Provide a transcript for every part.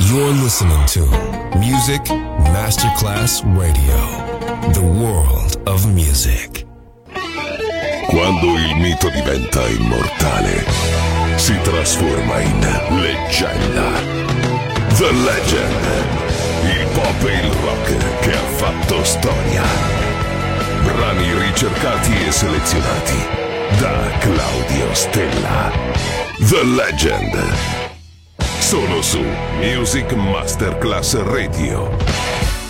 You're listening to Music Masterclass Radio, the world of music. Quando il mito diventa immortale, si trasforma in leggenda. The Legend, il pop e il rock che ha fatto storia. Brani ricercati e selezionati da Claudio Stella. The Legend. Solo su Music Masterclass Radio.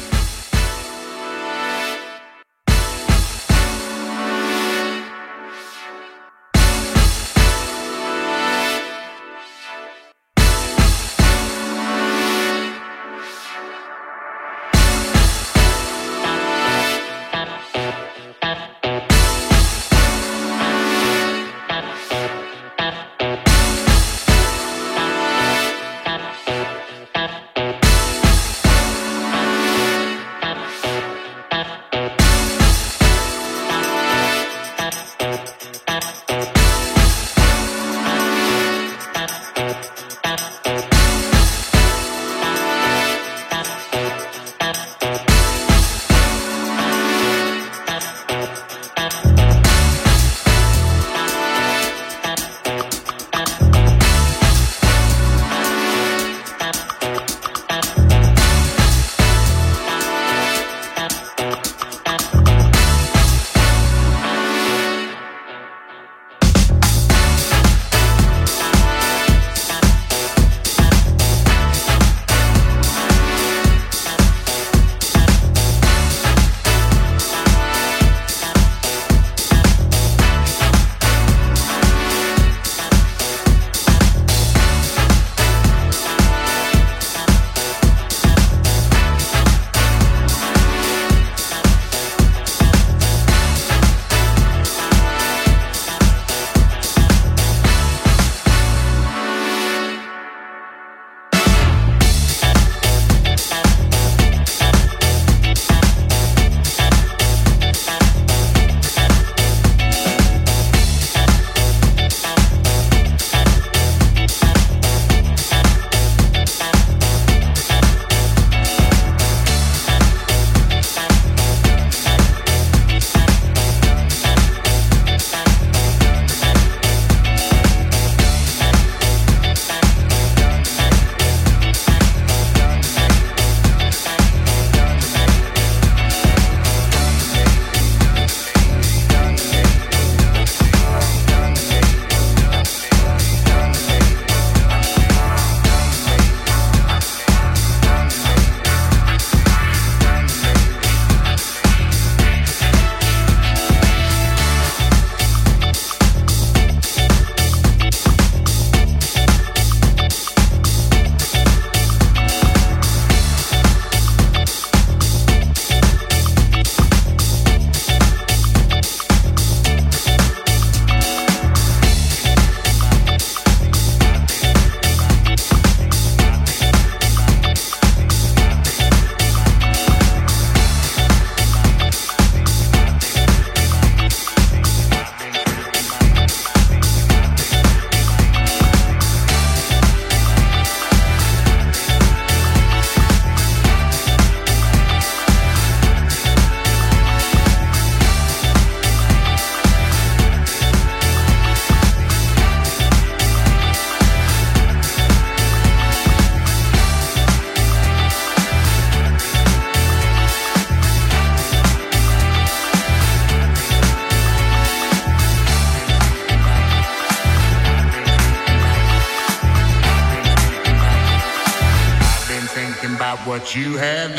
What you have.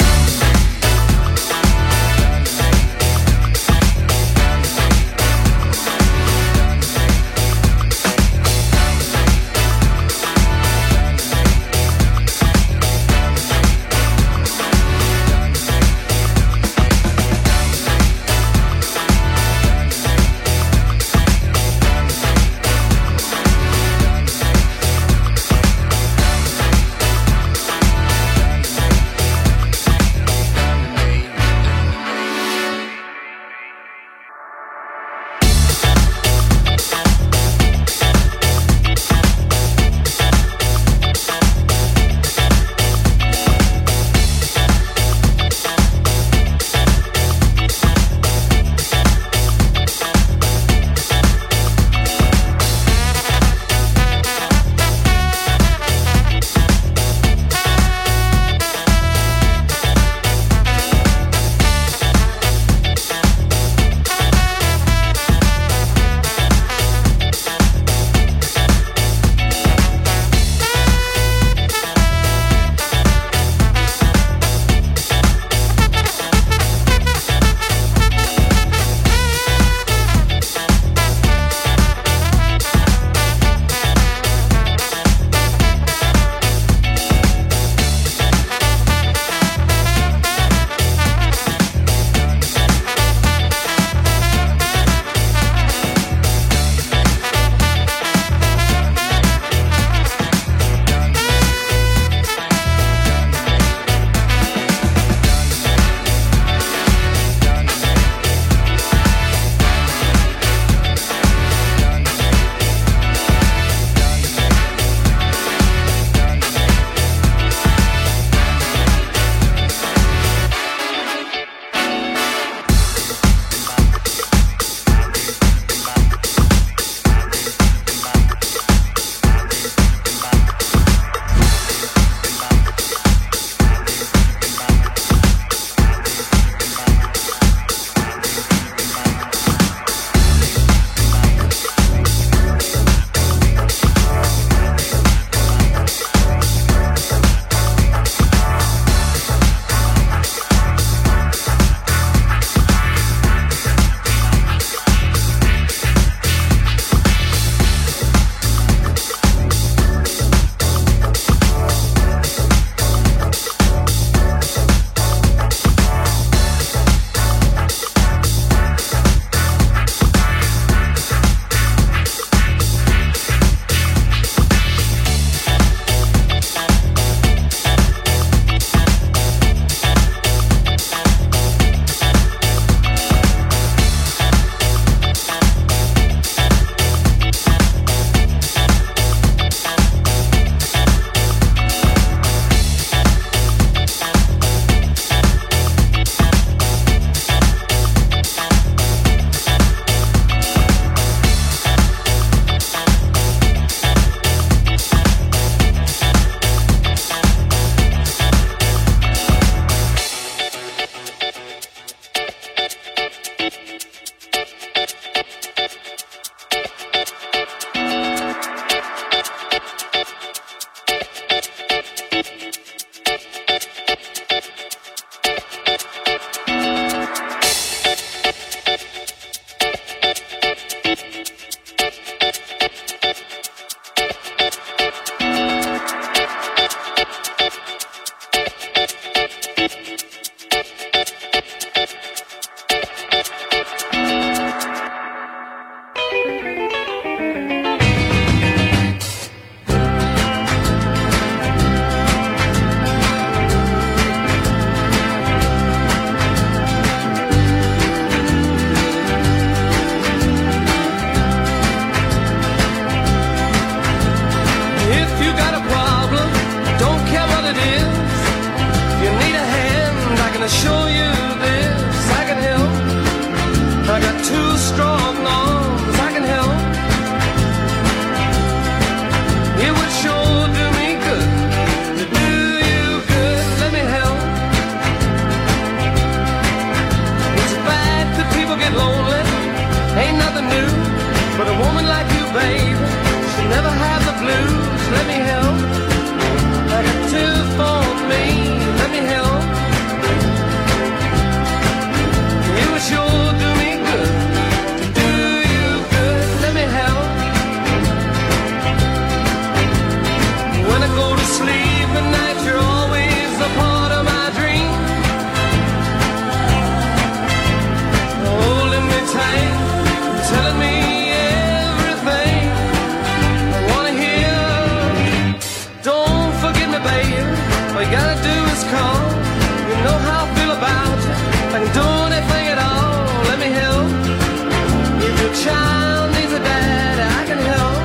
All you gotta do is call. You know how I feel about you. If I can do anything at all, let me help. If your child needs a dad, I can help.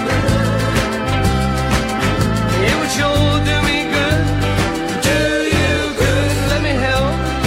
It would sure do me good. Do you good, let me help.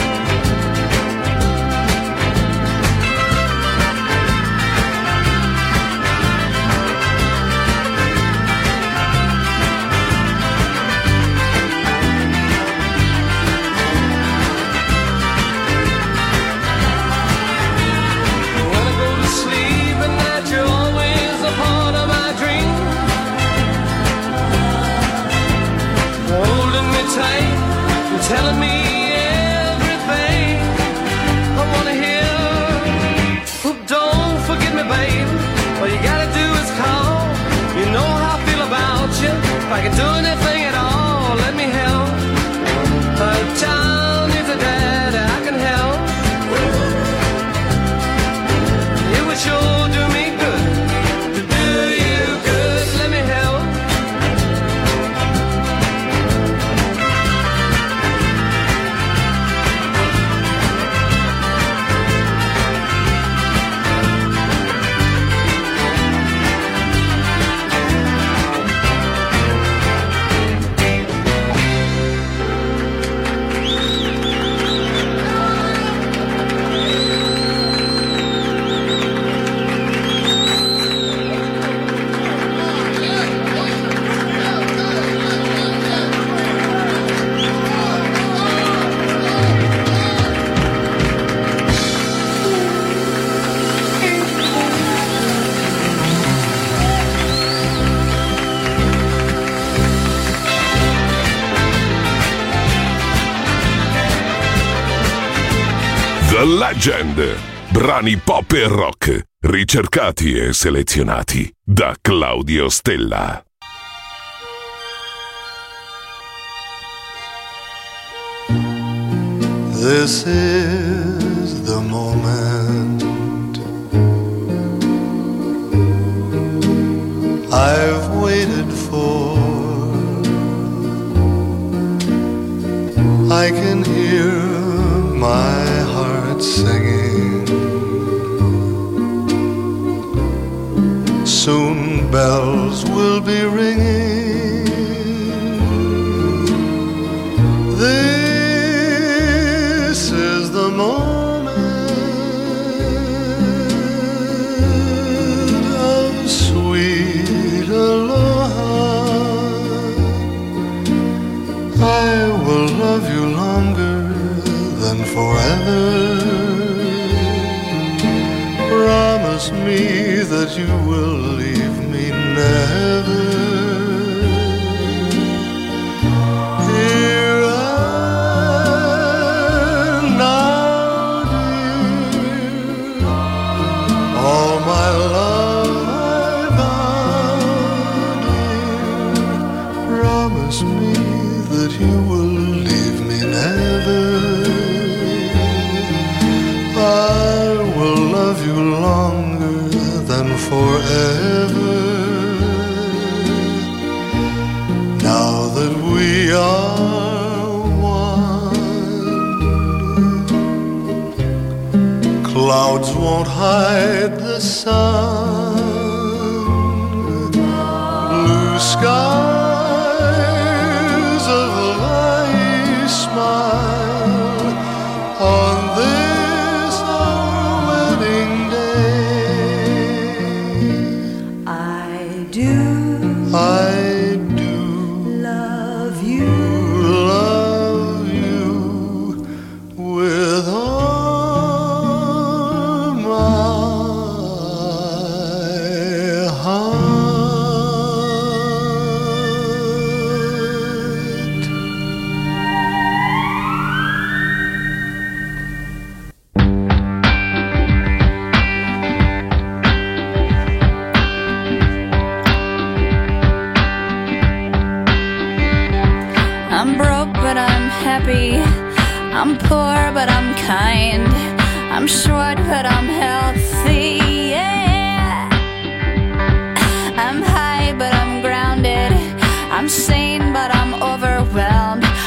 Telling me everything I wanna hear. Oh, don't forget me, babe. All you gotta do is call. You know how I feel about you. If I can do anything at all, let me help. A child needs a dad, I can help. It would sure do me good to do you good. Let me help. The Legend, brani pop e rock, ricercati e selezionati da Claudio Stella. This is the moment I've waited for. I can hear my heart singing. Soon bells will be ringing. This is the moment of sweet aloha. I will love you longer than forever. Promise me that you will leave me never. Here and now, dear, all my love I vow, dear. Promise me that you will leave me never. I will love you longer than forever. Now that we are one, clouds won't hide the sun. Blue skies of light smile on this our wedding day. I do love you with all my heart. I'm broke, but I'm happy. I'm poor, but I'm kind. I'm short, but I'm healthy. Yeah. I'm high, but I'm grounded. I'm sane, but I'm overwhelmed.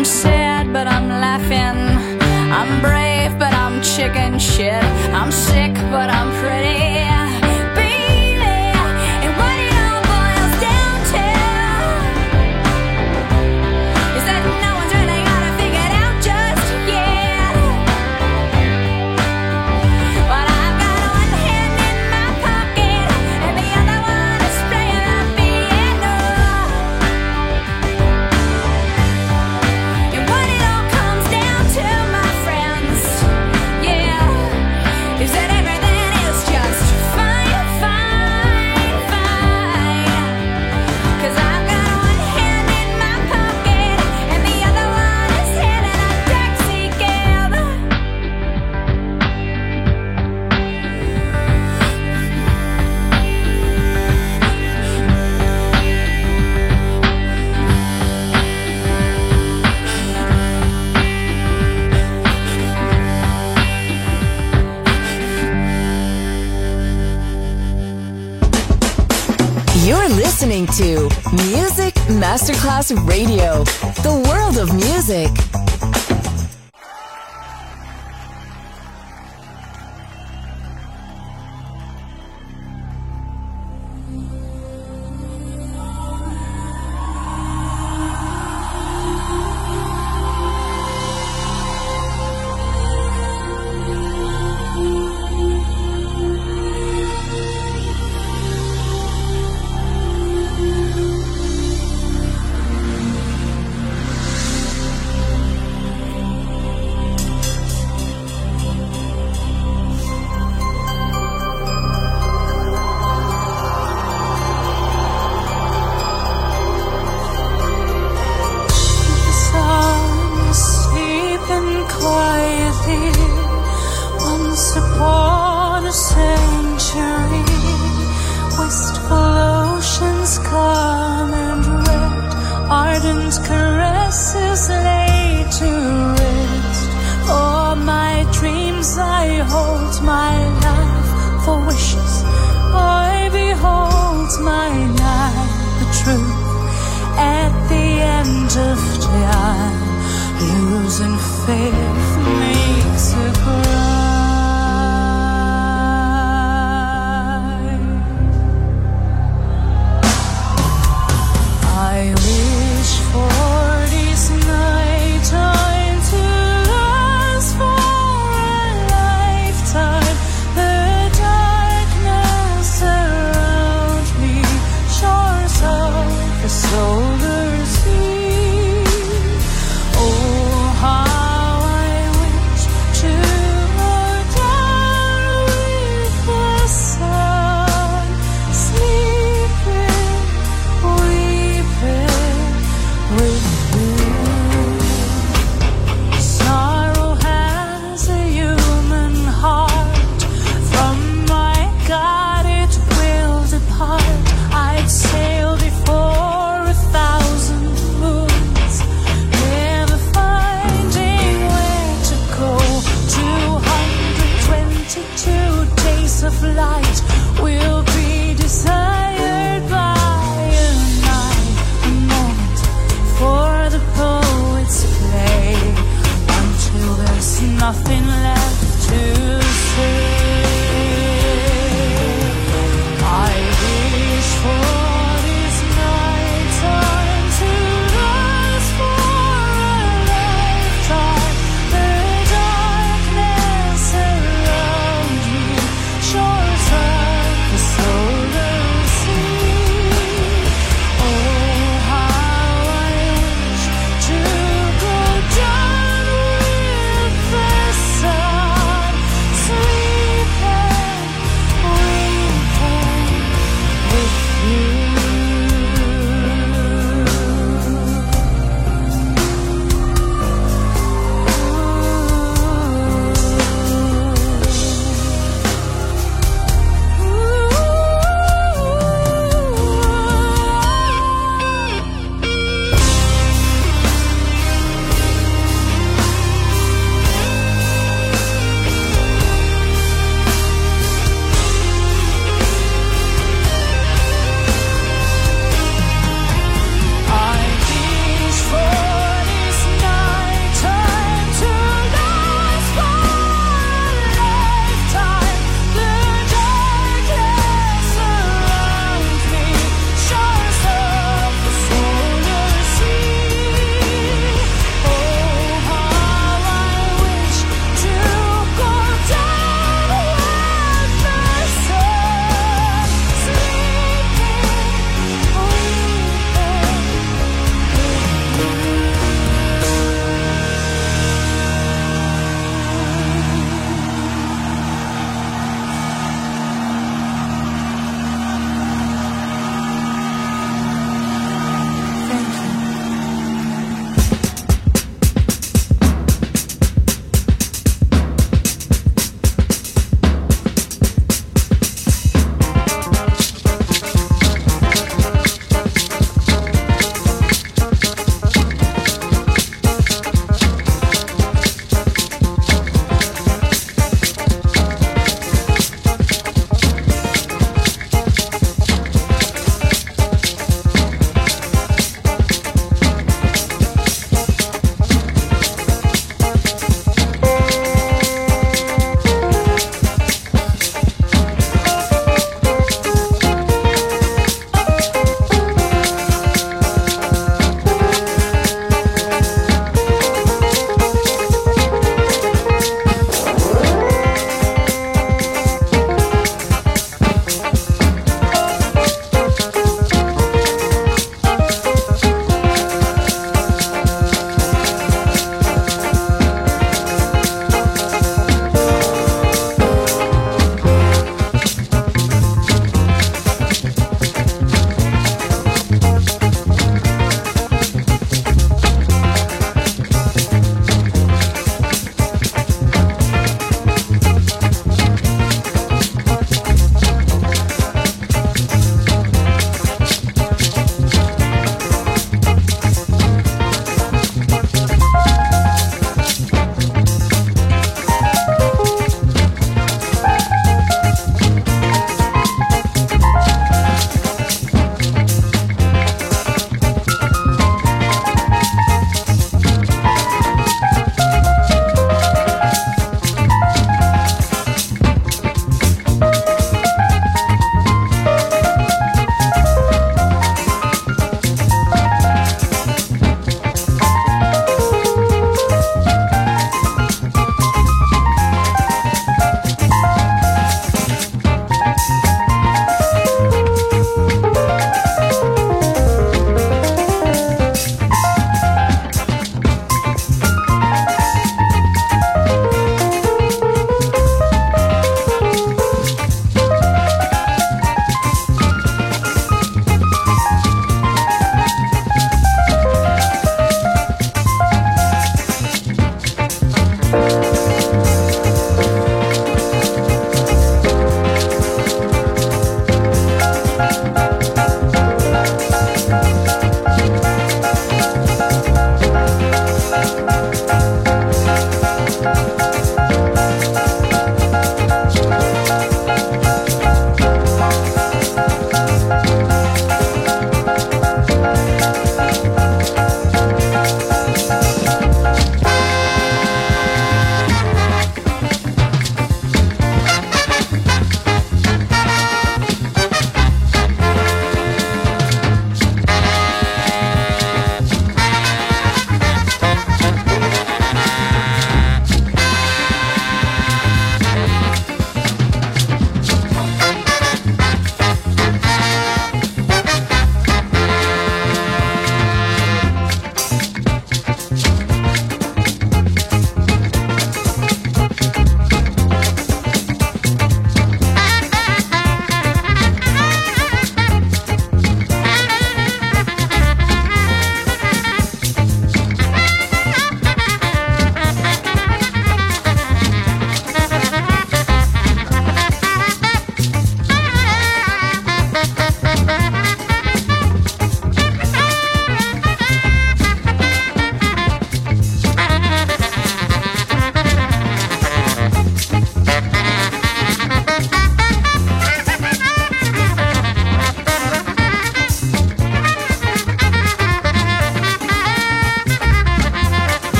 I'm sad, but I'm laughing. I'm brave, but I'm chicken shit. I'm sick, but I'm pretty. Listening to Music Masterclass Radio, the world of music. So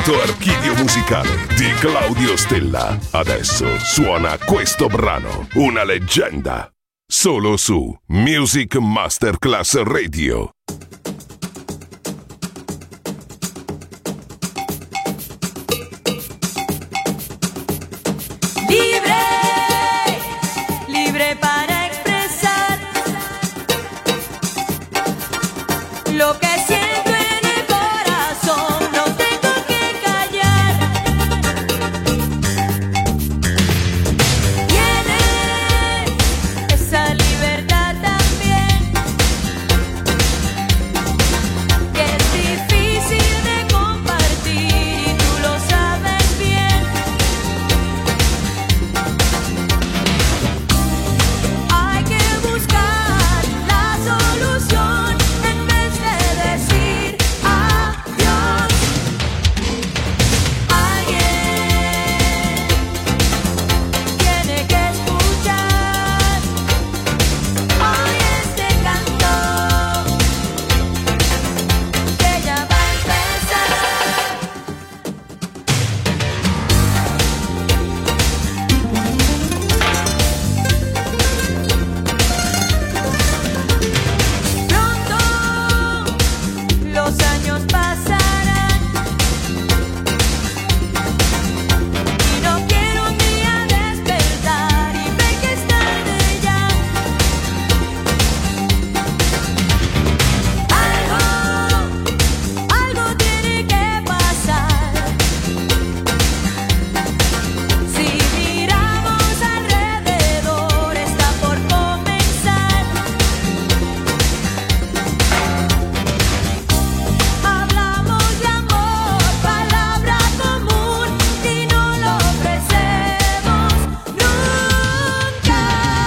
Momento archivio musicale di Claudio Stella. Adesso suona questo brano, una leggenda. Solo su Music Masterclass Radio. Libre para expresar lo que siento en el corazón, no tengo que callar. Tienes esa libertad también, que es difícil de compartir y tú lo sabes bien. Hay que buscar la solución en vez de decir adiós. Alguien tiene que escuchar hoy este canto, que ya va a empezar. Pronto los años pasarán y no quiero un día despertar y ver que es tarde ya. Algo tiene que pasar. Si miramos alrededor, está por comenzar. Hablamos de amor, palabra común, y no lo ofrecemos nunca.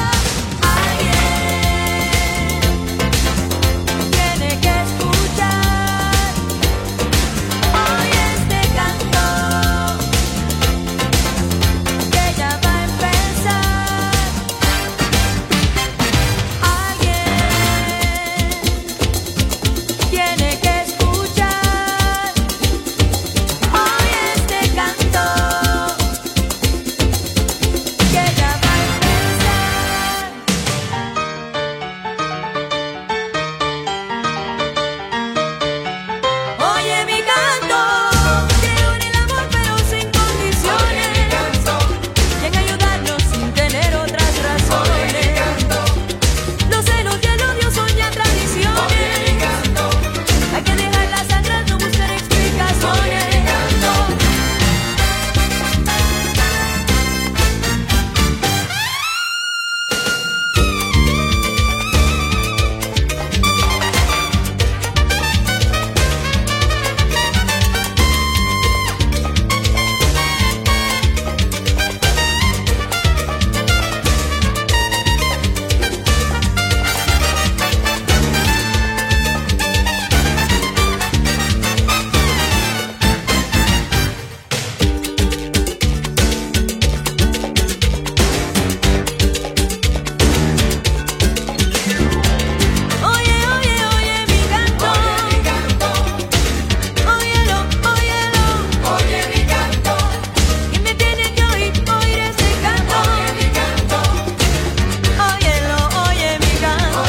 Alguien tiene que escuchar hoy este canto, que ya va a empezar. Alguien tiene que escuchar hoy este canto, que ya va a empezar. Oye mi canto, creo en el amor pero sin condiciones, y en ayudarnos sin tener otras razones. Los celos y el odio son ya tradiciones, hay que dejarlas atrás, no buscar explicaciones. Oye mi canto, óyelo, oye mi canto, y me tiene que oír este canto. Óyelo, oye mi canto,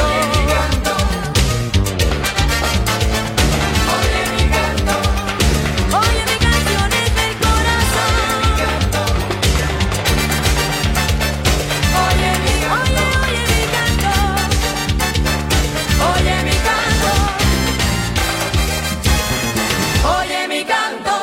oye mi canción es del corazón. Oye mi canto, oye mi canto, oye mi canto.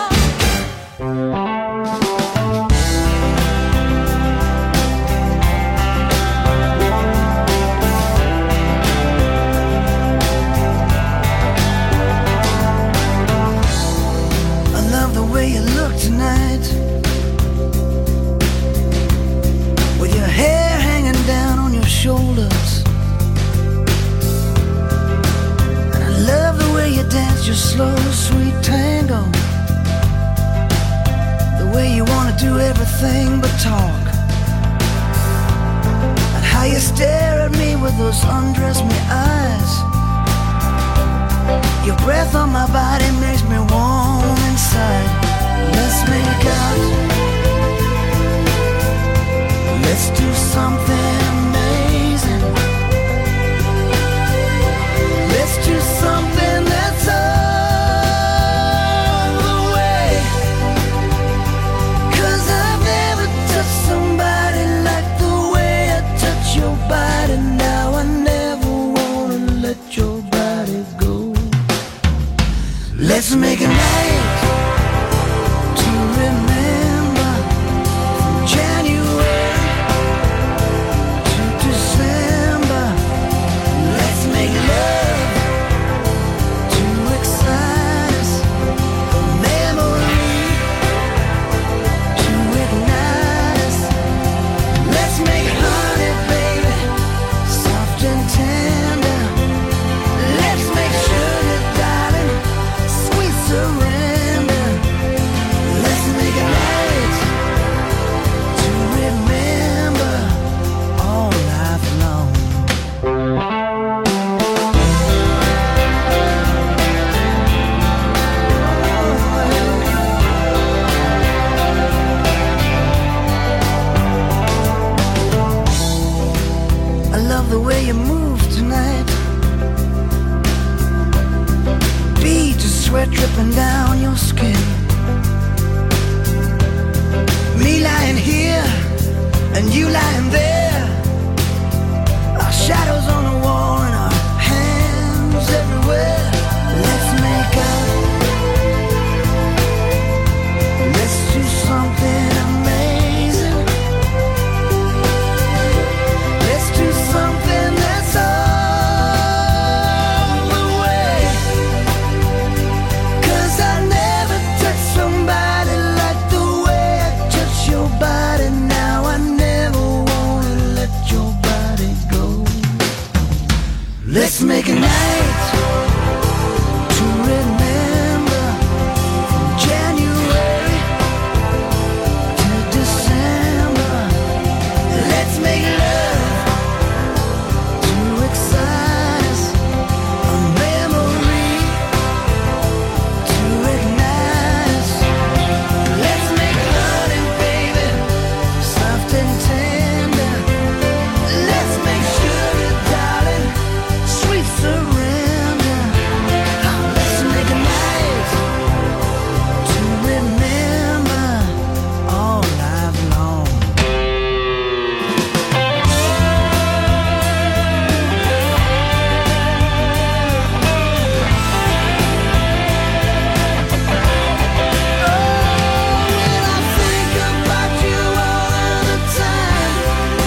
I love the way you look tonight, with your hair hanging down on your shoulders. And I love the way you dance your slow, sweet tango, the way you want to do everything but talk, and how you stare at me with those undress me eyes. Your breath on my body makes me warm inside. love the way you move tonight. Beads of sweat dripping down your skin. Me lying here and you lying there. Our shadows on the wall and our hands everywhere. Let's make up. Let's do something amazing. Let's do something that's all the way. 'Cause I never touched somebody like the way I touch your body now. I never wanna let your body go. Let's make a night to remember, from January to December. Let's make love to excite us, a memory to ignite us. Let's make loving, baby, soft and tender. Let's make sugar, darling, sweet surrender. Let's make a night to remember all life long. When I think about you all the time,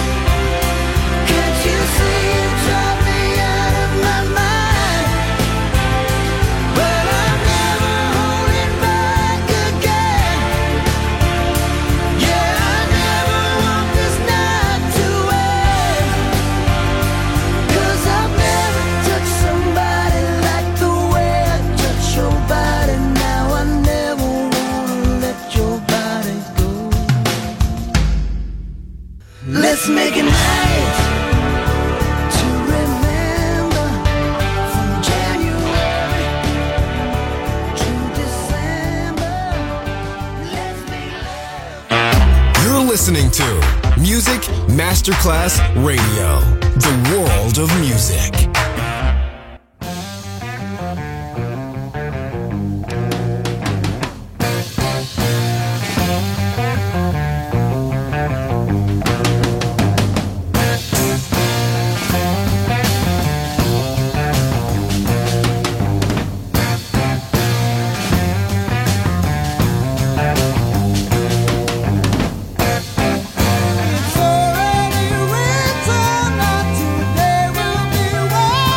can't you see you drive me out of my mind? But I'm never holding back again. Yeah, I never want this night to end. 'Cause I've never touched somebody like the way I touch your body now. I never wanna let your body go. Let's make a night to remember, from January to December. Let's make love. You're listening to Music Masterclass Radio, the world of music. It's already written that today will be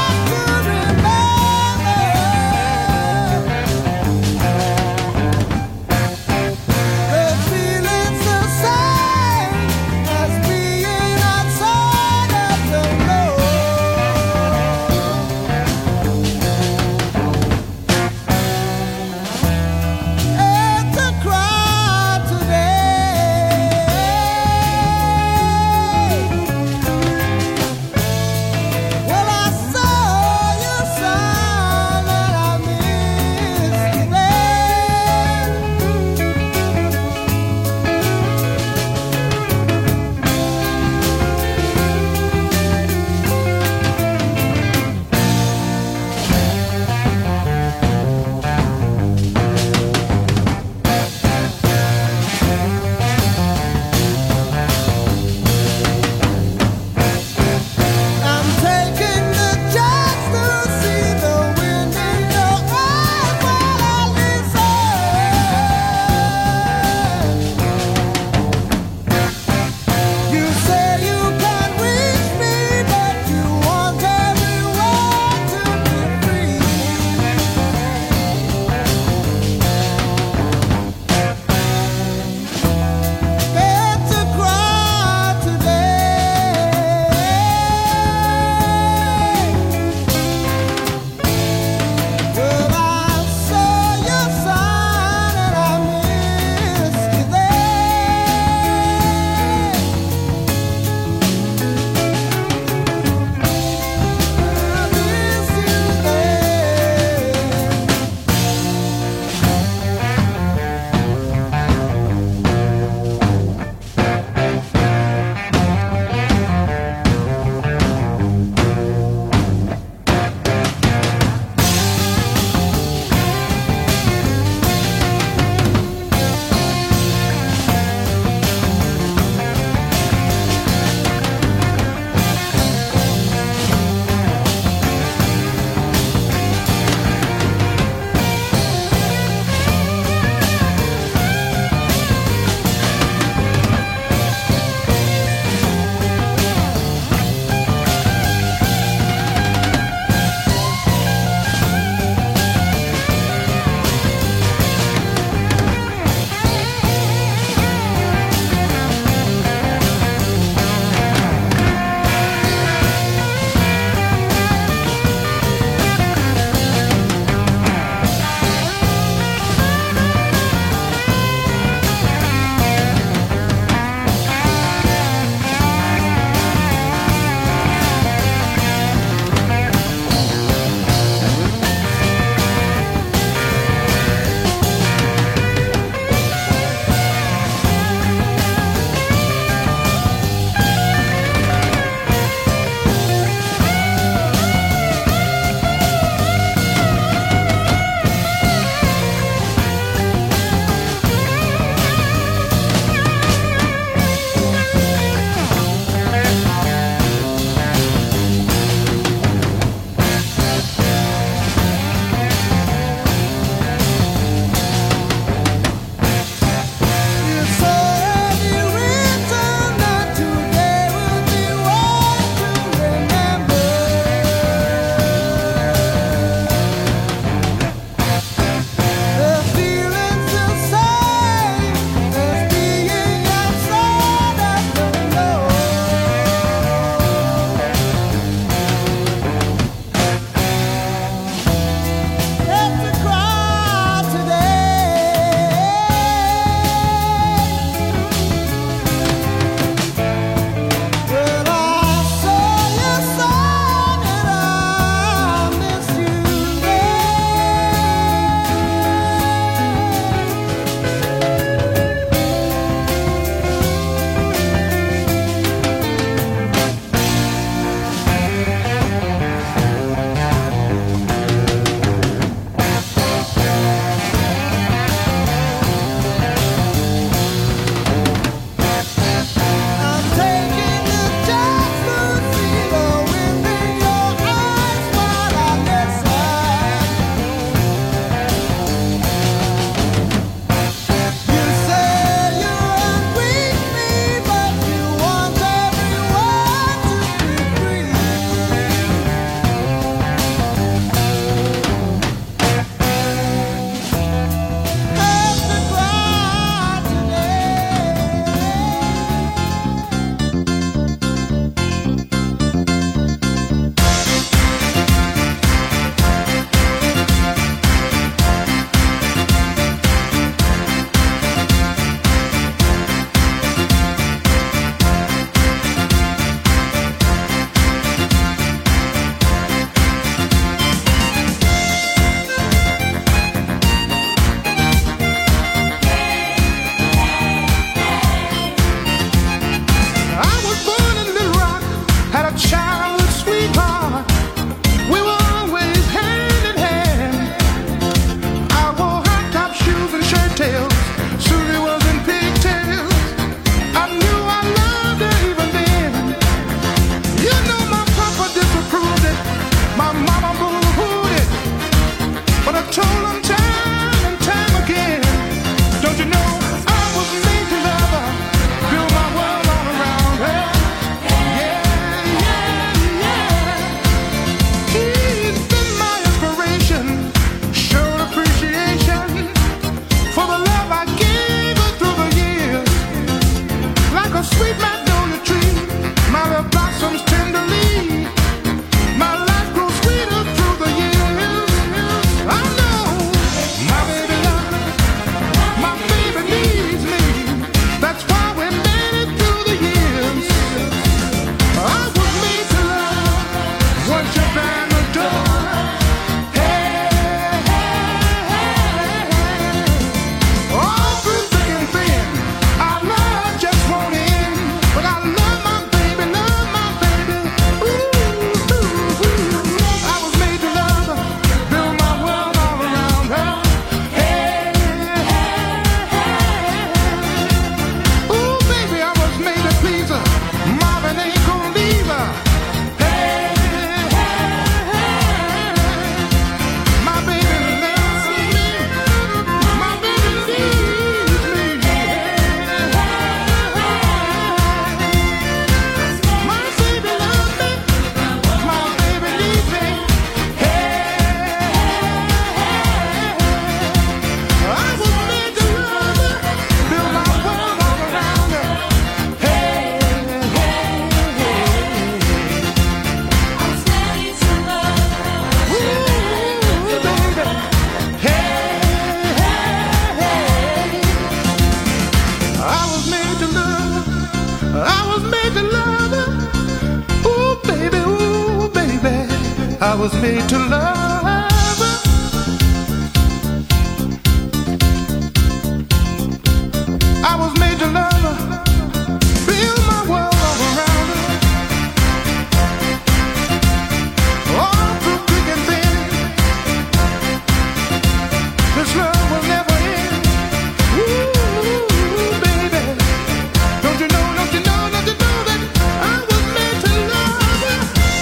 I was made to love her. I was made to love her. Build my world all around her. All through thick and thin. This love will never end. Ooh, baby. Don't you know, don't you know, don't you know that I was made to love her?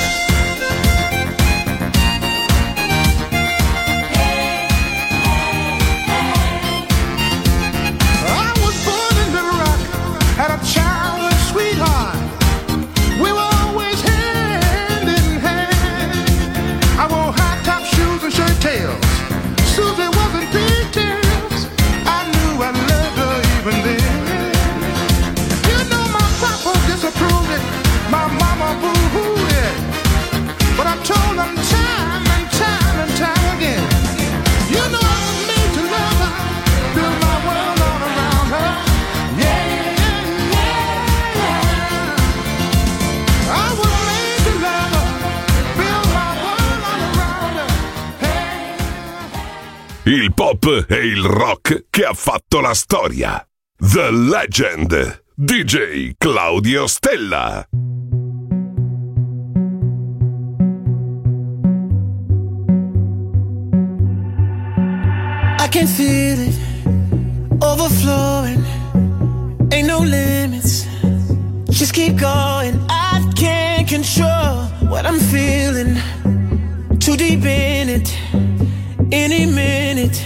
I was born in Little Rock, had a childhood sweetheart. We were always hand in hand. I wore high top shoes and shirt tails. Susie wasn't pigtails. I knew I loved her even then. You know my papa disapproved it, my mama boo-hooed it. But I told them time and time and time again. You know I was made to love her, build my world all around her. Yeah, yeah, yeah. I was made to love her, build my world all around her. Hey. Il pop e il rock che ha fatto la storia. The Legend, DJ Claudio Stella. I can feel it overflowing. Ain't no limits. Just keep going. I can't control what I'm feeling. Too deep in it. Any minute.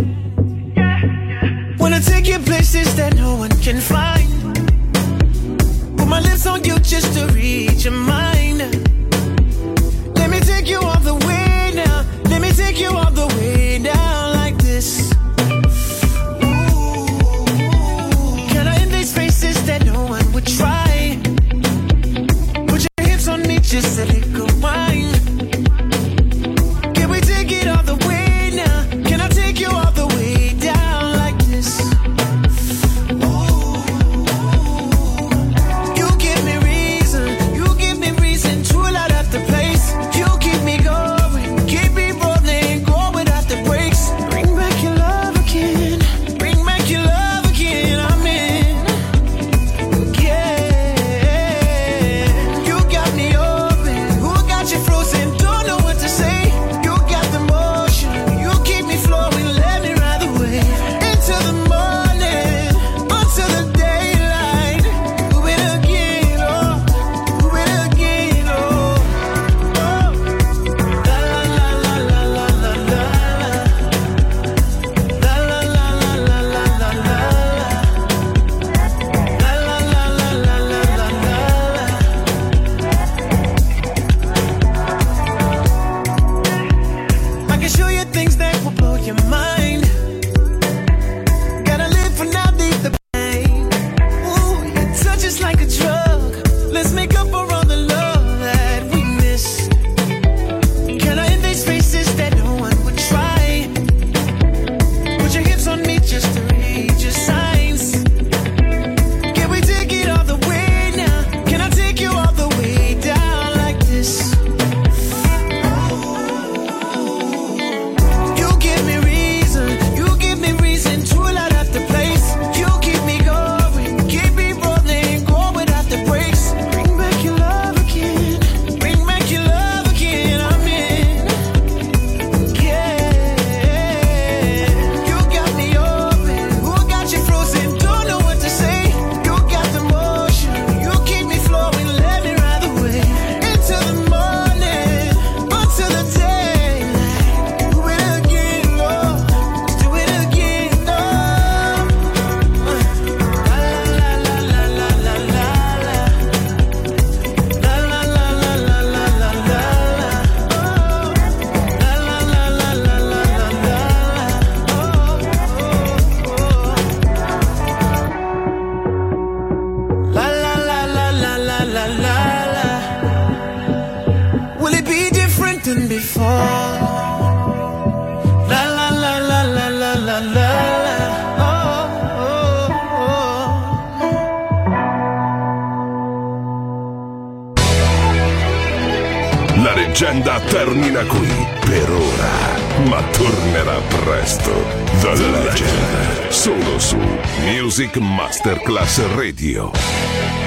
Wanna take you places that no one can find. Put my lips on you just to read your mind. Let me take you all the way now. Let me take you all the way down like this. Ooh. Can I invade spaces that no one would try? Put your hips on me just a little wine. Can we take it all the way now? Can I take you all the way down like this? Ooh. You give me reason to light up the place. You keep me going, keep me rolling, go without the brakes. Bring back your love again, bring back your love again. I'm in, yeah. You got me open, who got you frozen? Don't know what to say. You got the motion, you keep me flowing, let me ride the wave into the morning, until the daylight. Do it again, oh, do it again, oh, oh. La la la la la la la la la la la la la la la la I can show you things that will blow your mind. Gotta live for now, leave the pain. Ooh, your touch is like a drug. Let's make up for all the love that we missed. Can I invade spaces that no one would try? Put your hips on me just to read your signs. Can we take it all the way now? Can I take you all the way down like this? You give me reason to light up the place. You keep me going, keep me rolling, go without the brakes. Bring back your love again, bring back your love again. I'm in, yeah. You got me open, who got you frozen? Don't know what to say. You got the motion, you keep me flowing, let me ride the wave into the morning, until the daylight. Do it again, Lord. Do it again, Lord. La la la la la la la la. La la la la la la la la. La la la la la la la la. La la la la la la la la la. Will it be different than before? La la la la la la la la la. Oh, oh, oh. La leggenda termina qui per ora, ma tornerà presto. The Legend, solo su Music Masterclass Radio.